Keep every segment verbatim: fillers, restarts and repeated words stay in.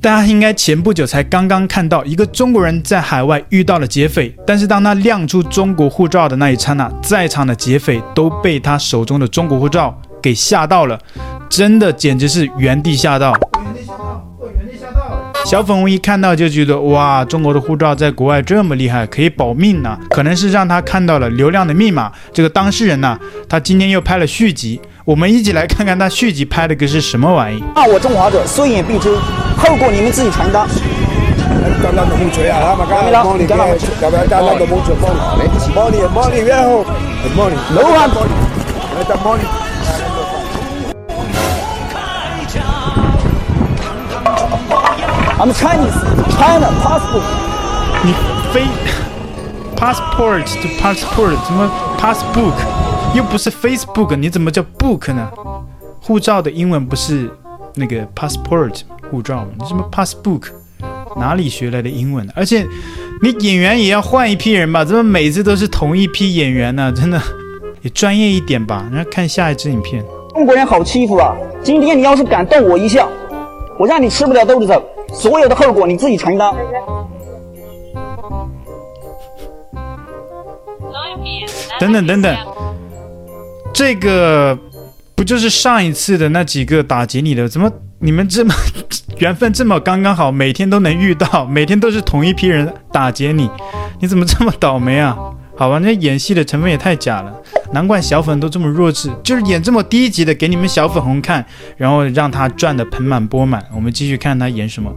大家應該前不久才剛剛看到一個中國人在海外遇到了劫匪，但是當他亮出中國護照的那一剎那，在場的劫匪都被他手中的中國護照給嚇到了，真的簡直是原地嚇到。小粉紅一看到就覺得哇，中國的護照在國外這麼厲害，可以保命呢、啊。可能是讓他看到了流量的密碼。這個當事人呢、啊，他今天又拍了續集，我們一起來看看他續集拍的個是什麼玩意。 罵我中華者，雖遠必誅，後果你們自己承擔。I'm Chinese, China passport. 你非 passport to passport 怎麼 passbook 又不是 Facebook， 你怎麼叫 book 呢？護照的英文不是那個 passport 護照嗎？你什麼 passbook？ 哪裡學來的英文？而且你演員也要換一批人吧？怎麼每次都是同一批演員呢？真的也專業一點吧。然後看下一支影片。 中國人好欺負啊！今天你要是敢動我一下，我讓你吃不了兜着走。所有的後果你自己承擔。 等等等等，這個不就是上一次的那幾個打劫你的？怎麼你們這麼緣分這麼剛剛好，每天都能遇到，每天都是同一批人打劫你？你怎麼這麼倒霉啊？好吧，那演戲的成分也太假了，難怪小粉都這麼弱智，就是演這麼低級的給你們小粉紅看，然後讓他賺得盆滿缽滿。我們繼續看他演什麼。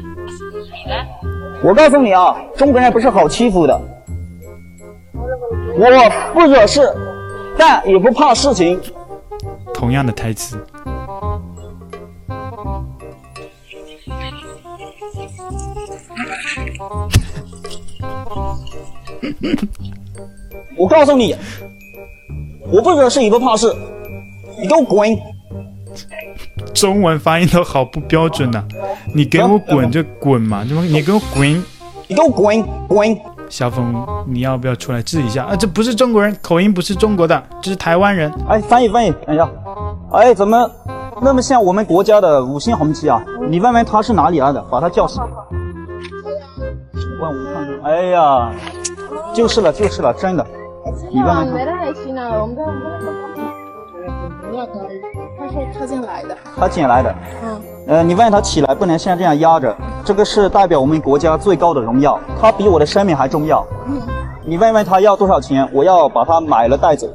我告訴你啊，中國人不是好欺負的，我不惹事，但也不怕事情。 同樣的台詞。 我告訴你，我不惹事也不怕事，你給我滾！ 中文發音都好不標準吶、啊！你給我滾就滾嘛，你給我滾！ 你給我滾滾！ 小粉，你要不要出來治一下啊？這不是中國人，口音不是中國的，這是台灣人。 哎，翻譯翻譯，等一下。哎，怎麼那麼像我們國家的五星紅旗啊？你問問他是哪裡來的，把他叫醒。問我看看。哎呀，就是了就是了，真的。你問問他。他說他捡來的。他撿來的。嗯。呃，你問他起來不能像這樣壓着，這個是代表我們國家最高的榮耀，它比我的生命還重要。嗯。你問問他要多少錢，我要把它買了帶走。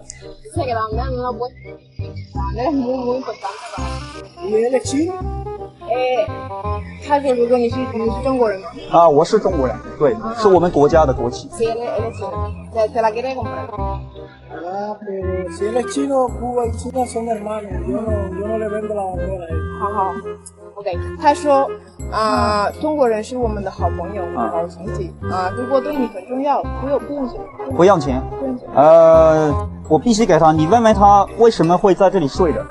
哎，他說如果你是你是中國人嗎？ 啊，我是中國人，對，啊、是我們國家的國旗。 好好 ，OK。他說啊、呃，中國人是我們的好朋友，我們的好兄弟啊，中國對你很重要，不用不用錢， 不用錢，不用錢。呃，我必須給他，你問問他為什麼會在這裡睡的。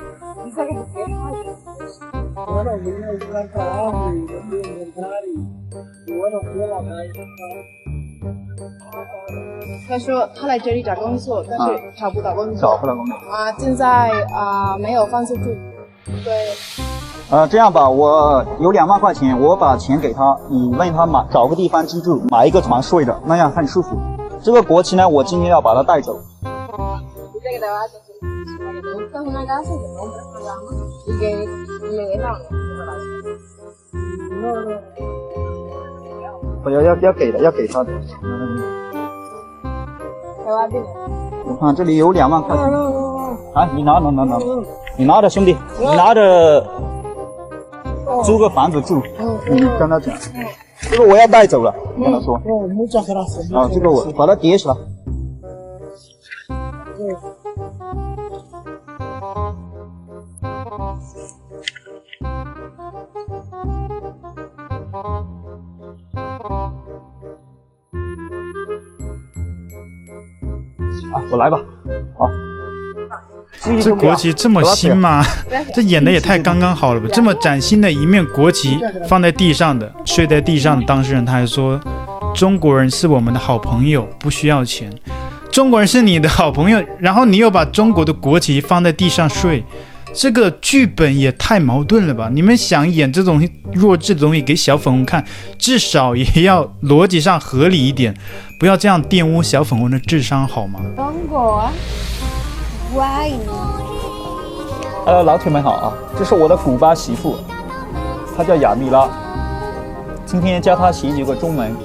他說他來這裡找工作，但是找不到工作， 找不到工作啊，現在啊沒有房子住，對。 呃，這樣吧，我有兩萬塊錢，我把錢給他，你問他買找個地方居住，買一個床睡着，那樣很舒服。這個國旗呢，我今天要把它帶走。我要要要給的，要給他的。嗯。我看這裡有兩萬塊錢。啊，你拿拿拿拿，你拿着兄弟，你拿着租個房子住。你跟他講，這個我要帶走了，跟他說。啊，這個我把它疊起來。啊，我來吧，好。 這國旗這麼新嗎？這演的也太剛剛好了吧！這麼嶄新的一面國旗放在地上的，睡在地上的當事人他還說，中國人是我們的好朋友，不需要錢。中國人是你的好朋友，然後你又把中國的國旗放在地上睡， 這個劇本也太矛盾了吧？你們想演這種弱智的東西給小粉紅看，至少也要邏輯上合理一點，不要這樣玷污小粉紅的智商好嗎？ 中國啊，乖。 呃，老鐵們好啊，這是我的古巴媳婦，她叫亞米拉，今天教她學幾個中文。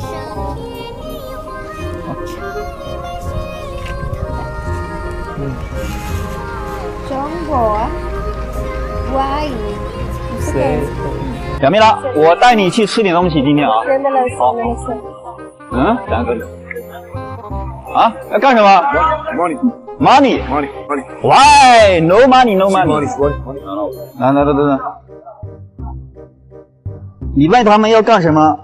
嗯， 中國啊，乖。 亞米拉，我帶你去吃點東西，今天啊。好。嗯，兩個人。啊？要幹什麼 ？Money。Money。Money。Money。Why? No money, no money. Money. Money. 来來来来來，你問他們要幹什麼？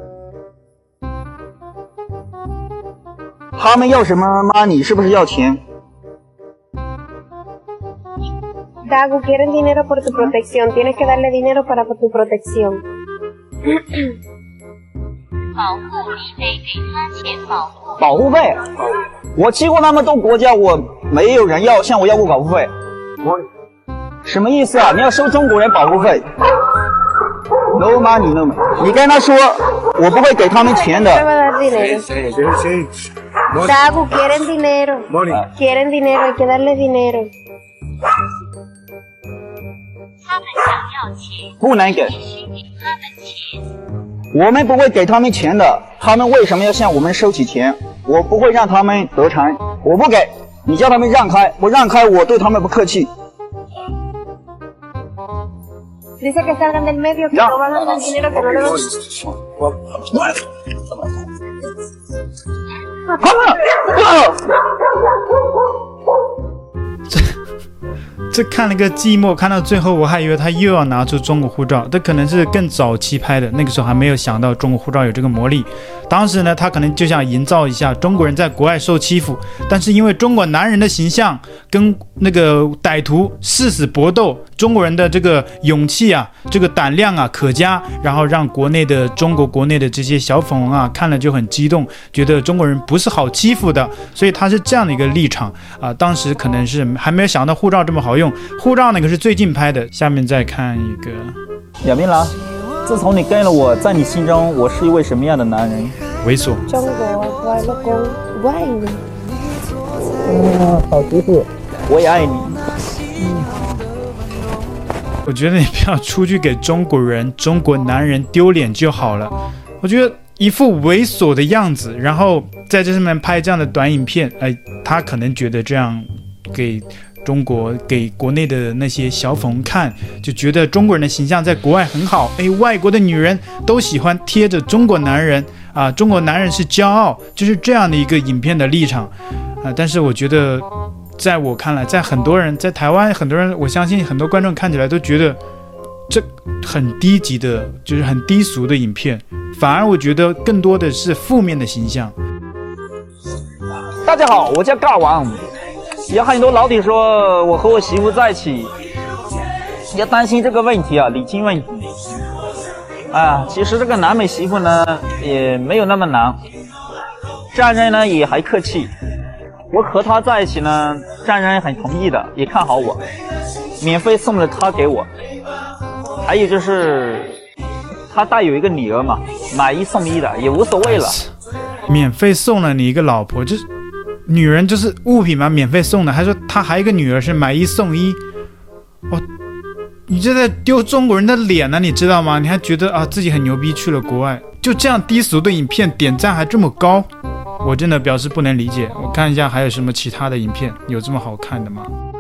他們要什麼 money？ 是不是要錢？ Dago, quieren dinero por tu protección. Tienes que darle dinero para tu protección. 保護你得給他錢保護。 保護費？我去過那麼多國家，我沒有人要向我要過保護費。什麼意思啊？你要收中國人保護費 ？No money, no money。你跟他說，我不會給他們錢的。 Dago, quieren dinero. Quieren dinero, hay que darle dinero. 他們想要錢， 不能給。 必須給他們錢。 我們不會給他們錢的，他們為什麼要向我們收起錢？我不會讓他們得逞，我不給。你叫他們讓開，我讓開，我對他們不客氣。 Dice que salgan del medio, que no van a dar dinero, que no le van. 这看了個寂寞，看到最後我還以為他又要拿出中國護照，這可能是更早期拍的，那個時候還沒有想到中國護照有這個魔力。當時呢，他可能就想營造一下中國人在國外受欺負，但是因為中國男人的形象跟那個歹徒誓死搏鬥，中國人的這個勇氣啊，這個膽量啊可嘉，然後讓國內的中國國內的這些小粉紅啊看了就很激動，覺得中國人不是好欺負的，所以他是這樣的一個立場啊。當時可能是還沒有想到護照這麼好用，護照那個是最近拍的。下面再看一個亞米拉，自從你跟了我，在你心中我是一位什麼樣的男人？ 猥瑣。 中國乖老公，我愛你。 嗯，好媳婦，我也愛你。嗯， 我覺得你不要出去給中國人、中國男人丟臉就好了。我覺得一副猥瑣的樣子，然後在這上面拍這樣的短影片，哎，他可能覺得這樣給中國、給國內的那些小粉紅看，就覺得中國人的形象在國外很好。哎，外國的女人都喜歡貼着中國男人啊，中國男人是驕傲，就是這樣的一個影片的立場啊。但是我覺得，在我看來，在很多人在台灣，很多人，我相信很多觀眾看起來都覺得這很低級的，就是很低俗的影片。反而我覺得更多的是負面的形象。 大家好，我叫尬王。有很多老鐵說我和我媳婦在一起，要擔心這個問題啊，禮金問題。啊，其實這個南美媳婦呢也沒有那麼難，丈人呢也還客氣。我和他在一起呢，丈人很同意的，也看好我，免費送了他給我。還有就是他帶有一個女兒嘛，買一送一的也無所謂了。 免費送了你一個老婆，就是女人就是物品嘛，免費送的。還說他還有一個女兒是買一送一，哦，你這在丟中國人的臉呢，你知道嗎？你還覺得啊自己很牛逼，去了國外，就這樣低俗的影片點讚還這麼高，我真的表示不能理解。我看一下還有什麼其他的影片有這麼好看的嗎？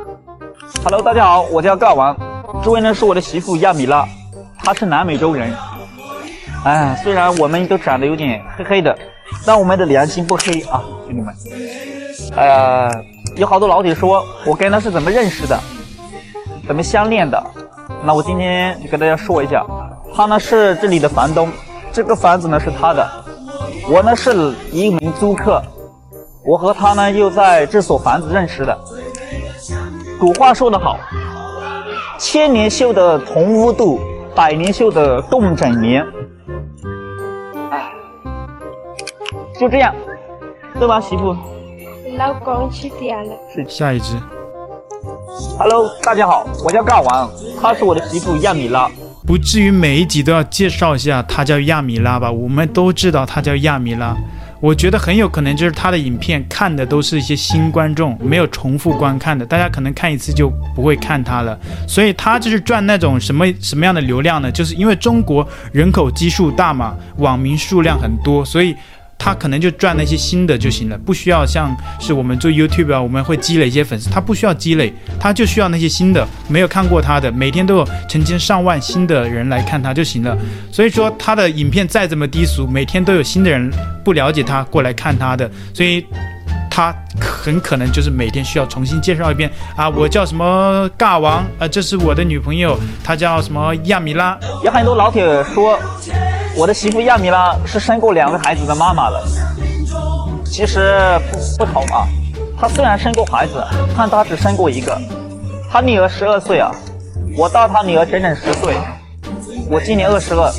Hello， 大家好，我叫尬王，這位呢是我的媳婦亞米拉，她是南美洲人。哎，雖然我們都長得有點黑黑的，但我們的良心不黑啊，兄弟們。呃，有好多老鐵說我跟他是怎麼認識的，怎麼相戀的。那我今天就跟大家說一下，他呢是這裡的房東，這個房子呢是他的，我呢是一名租客，我和他呢又在這所房子認識的。古話說得好，千年修得同屋度，百年修得共枕眠。哎，就這樣，對吧，媳婦？ 老公去掉了。 下一支。 Hello， 大家好，我叫尬王，她是我的媳婦亞米拉。 不至於每一集都要介紹一下她叫亞米拉吧？我們都知道她叫亞米拉。我覺得很有可能就是她的影片看的都是一些新觀眾，沒有重複觀看的，大家可能看一次就不會看她了。所以她就是賺那種什麼什麼樣的流量呢？就是因為中國人口基數大嘛，網民數量很多，所以他可能就賺那些新的就行了，不需要像是我們做 YouTube 啊，我們會積累一些粉絲，他不需要積累，他就需要那些新的，沒有看過他的，每天都有成千上萬新的人來看他就行了。所以說他的影片再怎麼低俗，每天都有新的人不了解他過來看他的，所以他很可能就是每天需要重新介紹一遍啊，我叫什麼尬王啊，這是我的女朋友，她叫什麼亞米拉。 有很多老鐵說我的媳婦亞米拉是生過兩個孩子的媽媽了，其實 不, 不同啊，她雖然生過孩子，但她只生過一個。她女兒十二歲啊，我大她女兒整整十歲，我今年二十二。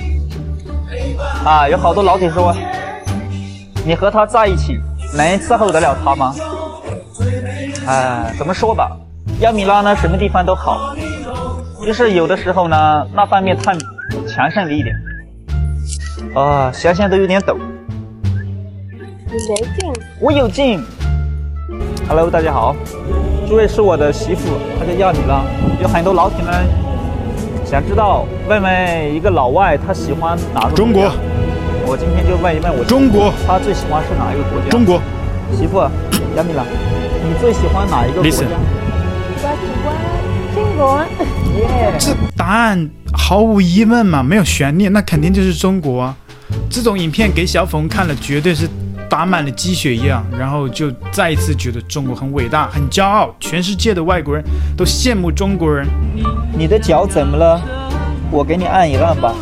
啊，有好多老鐵說，你和她在一起能伺候得了她嗎？哎，怎麼說吧，亞米拉呢什麼地方都好，就是有的時候呢那方面太強盛了一點。啊，想想都有點抖。 你沒勁， 我有勁。Hello， 大家好，這位是我的媳婦，她叫亞米拉。有很多老鐵們想知道，問問一個老外他喜歡哪個國家？ 中國。 我今天就問一問我中國， 他最喜歡是哪一個國家？ 中國。 媳婦，亞米拉，你最喜歡哪一個國家？ Listen， 我喜歡中國。 Yeah， 這答案毫無疑問嘛，沒有懸念，那肯定就是中國啊。這種影片給小粉看了，絕對是打滿了雞血一樣，然後就再一次覺得中國很偉大、很驕傲，全世界的外國人都羨慕中國人。 你的腳怎麼了？我給你按一按吧。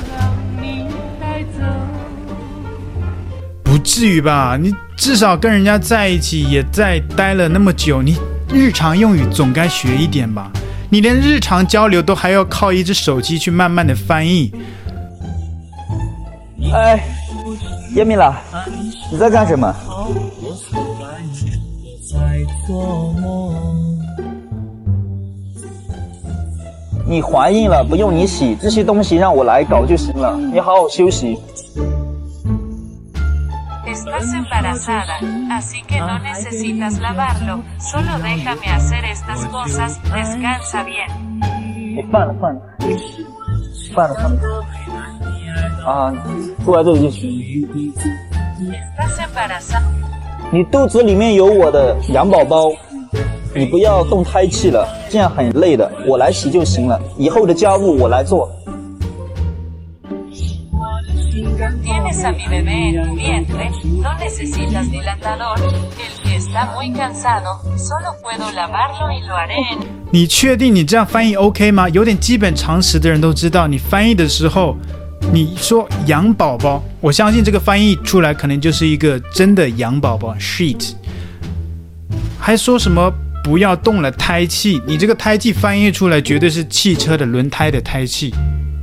不至於吧？你至少跟人家在一起，也在待了那麼久，你日常用語總該學一點吧？你連日常交流都還要靠一隻手機去慢慢的翻譯。 哎，亞米拉，你在幹什麼？你懷孕了，不用你洗，這些東西讓我來搞就行了。你好好休息。 Estás embarazada, así que no necesitas lavarlo. Solo déjame hacer estas cosas. Descansa bien. 你放了放了，放了放了。啊，坐在這裡就行。 Estás embarazada. 你肚子裡面有我的羊寶寶，你不要動胎氣了，這樣很累的，我來洗就行了。以後的家務我來做。 Tienes a mi bebé en tu vientre, no necesitas dilatador. El que está muy cansado, solo puedo lavarlo y lo haré en... 你確定你這樣翻譯 OK 嗎？有點基本常識的人都知道，你翻譯的時候，你說羊寶寶，我相信這個翻譯出來可能就是一個真的羊寶寶 shit， 還說什麼不要動了胎氣，你這個胎氣翻譯出來絕對是汽車的輪胎的胎氣。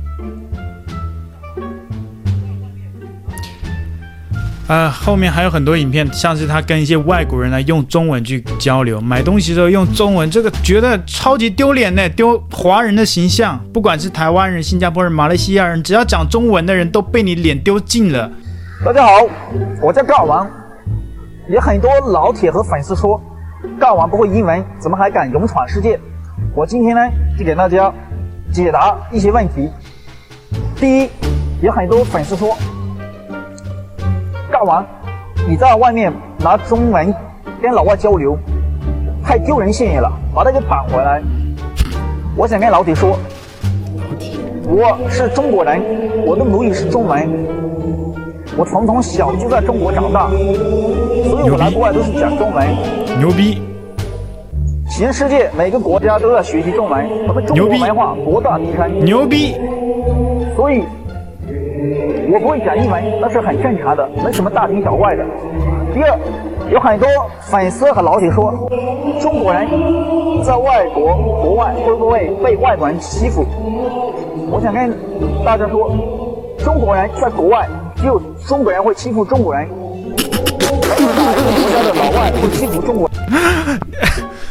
呃，後面還有很多影片，像是他跟一些外國人來用中文去交流，買東西的時候用中文，這個覺得超級丟臉呢，丟華人的形象。不管是台灣人、新加坡人、馬來西亞人，只要講中文的人都被你臉丟盡了。 大家好，我叫尬王。有很多老鐵和粉絲說，尬王不會英文，怎麼還敢勇闖世界？我今天呢，就給大家解答一些問題。第一，有很多粉絲說，尬王，你在外面拿中文跟老外交流，太丟人現眼了，把它給扳回來。我想跟老鐵說，我是中國人，我的母語是中文，我從從小就在中國長大，所以我來國外都是講中文。 牛逼！ 全世界每個國家都在學習中文，我們中國文化博大精深。 牛逼！ 所以我不會講英文，那是很正常的，沒什麼大驚小怪的。第二，有很多粉絲和老鐵說，中國人在外國國外會不會被外國人欺負？我想跟大家說，中國人在國外只有中國人會欺負中國人，沒有哪個國家的老外會欺負中國人。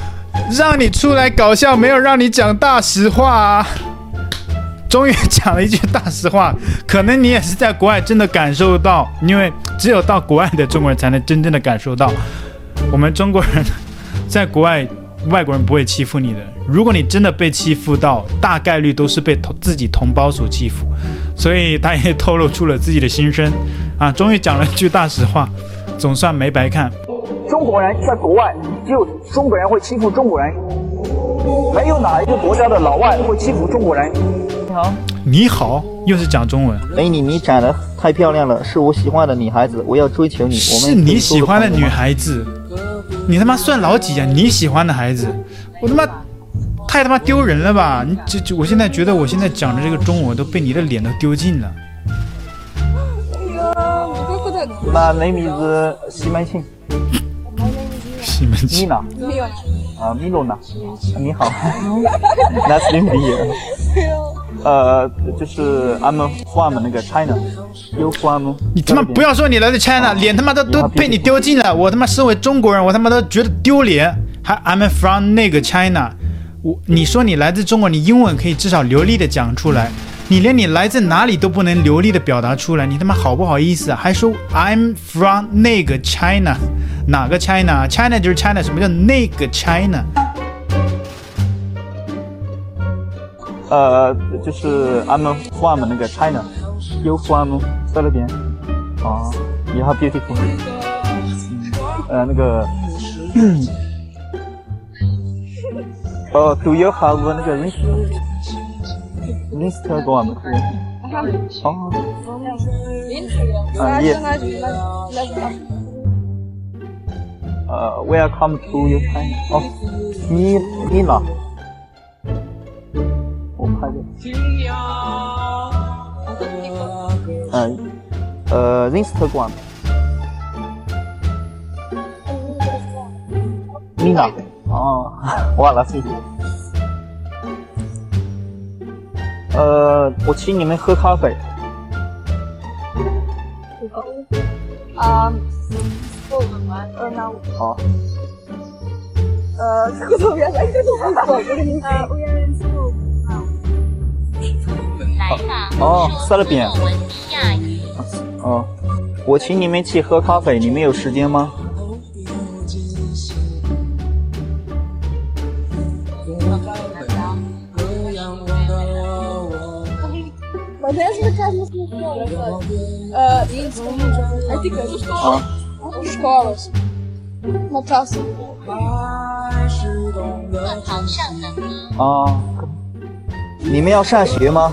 讓你出來搞笑，沒有讓你講大實話啊！終於講了一句大實話，可能你也是在國外真的感受到，因為只有到國外的中國人才能真正的感受到，我們中國人在國外，外國人不會欺負你的。如果你真的被欺負到，大概率都是被自己同胞所欺負。所以他也透露出了自己的心聲啊！終於講了一句大實話，總算沒白看。 中國人在國外，只有中國人會欺負中國人，沒有哪一個國家的老外會欺負中國人。你好， 你好，又是講中文。 美女，你長得太漂亮了，是我喜歡的女孩子，我要追求你。 是你喜歡的女孩子？你他媽算老幾呀、啊？你喜歡的孩子，我他媽太他媽丟人了吧！你這這，我現在覺得我現在講的這個中文都被你的臉都丟盡了。 My name is 西門慶。 西門慶。 米娜。啊，米洛娜。你好。Nice to meet you。呃，就是 I'm from 那個 China。You from？ 你他媽不要說你來自 China， 臉他媽都都被你丟盡了。我他媽身為中國人，我他媽都覺得丟臉。還 I'm from 那個 China。我你說你來自中國，你英文可以至少流利的講出來，你連你來自哪裡都不能流利的表達出來，你他媽好不好意思啊？還說 I'm from 那個 China， 哪個 China？ China 就是 China， 什麼叫那個 China？ 呃，就是 I'm from 那個 China，You from 在那邊？哦 ，You are beautiful。呃，那個。哦、uh, ，Do you have 那個 Instagram？ 哦，啊，Yes。呃 ，Welcome to your China。哦，你你呢？我拍的。嗯，呃 ，Instagram。你呢？哦，忘了谢谢。呃，我請你們喝咖啡。 啊，不，呃，那我。 好。 呃，這個圖原來就是我的名字。呃，我原來是我。 哦，塞勒邊。哦，我請你們去喝咖啡，你們有時間嗎？ Uh, I think escolas. Escolas. Na praça. 啊，你們要上學嗎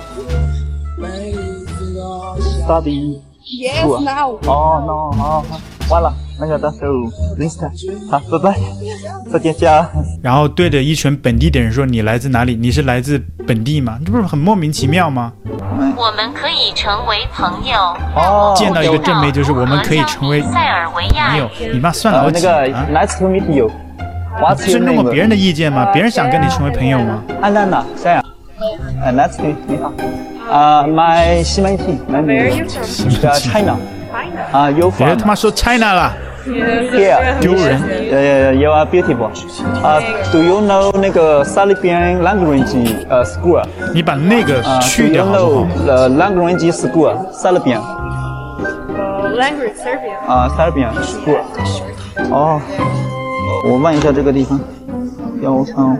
？Study. Yes, now. 哦 ，no， 哦，完了，那個到時候 Insta， 好，拜拜，再見家。 然後對着一群本地的人說：“你來自哪裡？你是來自本地嗎？這不是很莫名其妙嗎？” 我們可以成為朋友。 哦， 見到一個正妹就是我們可以成為塞爾維亞朋友。你媽算老幾啊？ 那個 Nice to meet you。 尊重過別人的意見嗎？別人想跟你成為朋友嗎？ 安娜娜，這樣。呃 ，Nice to meet you，你好。啊 ，My 西門慶，來你。呃 ，China。啊 ，You from？ 別人他媽說 China 了。Here， 丟人。 呃 ，You are beautiful。啊 ，Do you know 那個 Serbian language 呃 school？ 你把那個去掉好不好？ Do you know 呃 language school Serbian？ Language Serbian。 啊 ，Serbian school。哦，我問一下這個地方，幺三。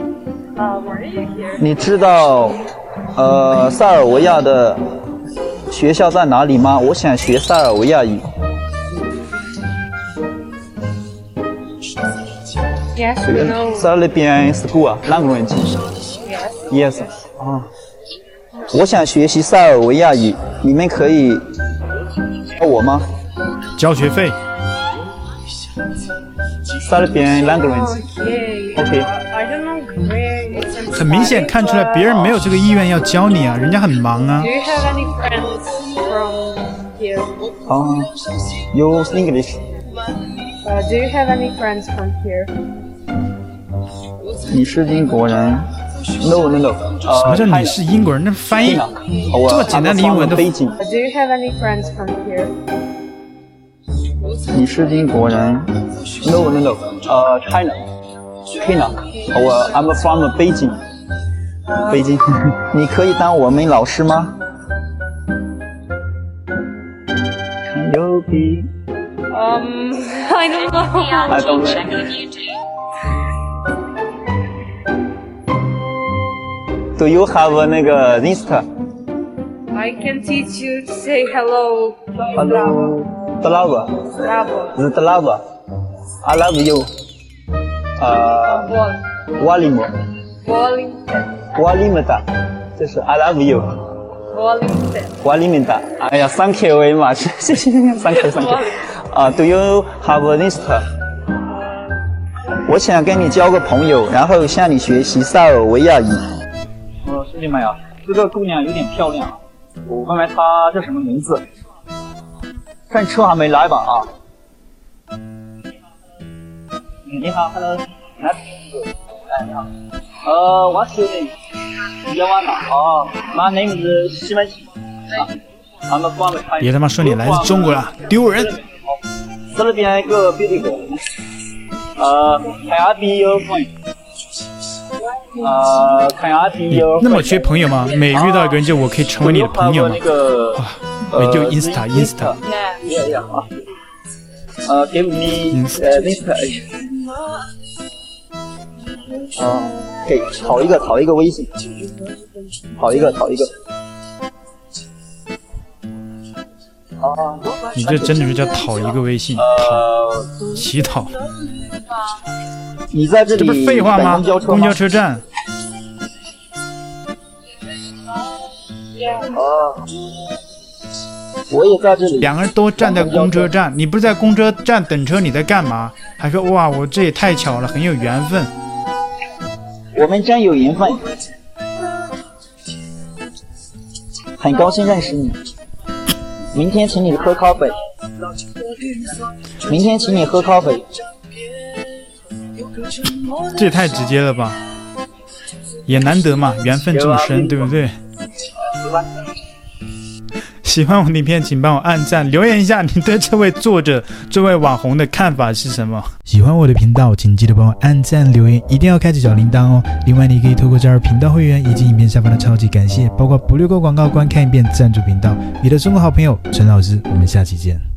你知道呃塞爾維亞的學校在哪裡嗎？我想學塞爾維亞語。 Yes, we know. Serbian school language. Yes. 啊，我想學習塞爾維亞語，你們可以教我嗎？ 交學費。 Serbian language. OK. 很明顯看出來，別人沒有這個意願要教你啊，人家很忙啊。 Do you have any friends from here? 啊 ，Use English. Uh, do you have any friends from here? 你是英國人 ？No no no。 什麼叫你是英國人？那翻譯這麼簡單的英文都。 Do you have any friends from here? 你是英國人 ？No no no。呃 ，China。 可以呢。我 I'm from 北京，北京，你可以当我们老師嗎？牛逼。 Um, I don't know. I don't Check on YouTube. Do you have 那個 Insta? I can teach you to say hello. Hello. Bravo. Bravo. Bravo. I love you. 呃 Walim. Walim. Walimda. 就是 I love you. Walim. Walimda. 哎呀 ，Thank you very much. 謝謝 ，Thank you，Thank you。啊 ，Do you have Insta? 我想跟你交個朋友，然後向你學習塞爾維亞語。哦，兄弟們呀，這個姑娘有點漂亮啊，我問問她叫什麼名字。看車還沒來吧？啊。嗯，你好 ，Hello。來，哎，你好。呃 ，What's your name? 你叫完了。哦 ，My name is 西門慶。啊。 別他媽說你來自中國了，丟人！ 這邊一個 beautiful， 呃 ，Can I be your friend？ 呃 ，Can I be your friend？ 那麼缺朋友嗎？每遇到一個人就我可以成為你的朋友嗎？哇，我就 Insta Insta。 呃 ，Give me 呃 Insta。哦，給討一個討一個微信，討一個討一個。哦， 你這真的是叫討一個微信，討乞討。 你在這裡？ 這不是廢話嗎？公交車站。 哦，我也在這裡。 兩個人都站在公車站，你不是在公車站等車，你在幹嘛？還說哇，我這也太巧了，很有緣分。 我們真有緣分，很高興認識你。明天請你喝咖啡。明天請你喝咖啡。 這也太直接了吧，也難得嘛，緣分這麼深，對不對？喜歡我的影片請幫我按讚留言一下，你對這位作者這位網紅的看法是什麼？喜歡我的頻道請記得幫我按讚留言，一定要開啟小鈴鐺哦。另外你可以透過加入頻道會員以及影片下方的超級感謝，包括不略過廣告觀看一遍贊助頻道。你的中國好朋友陳老師，我們下期見。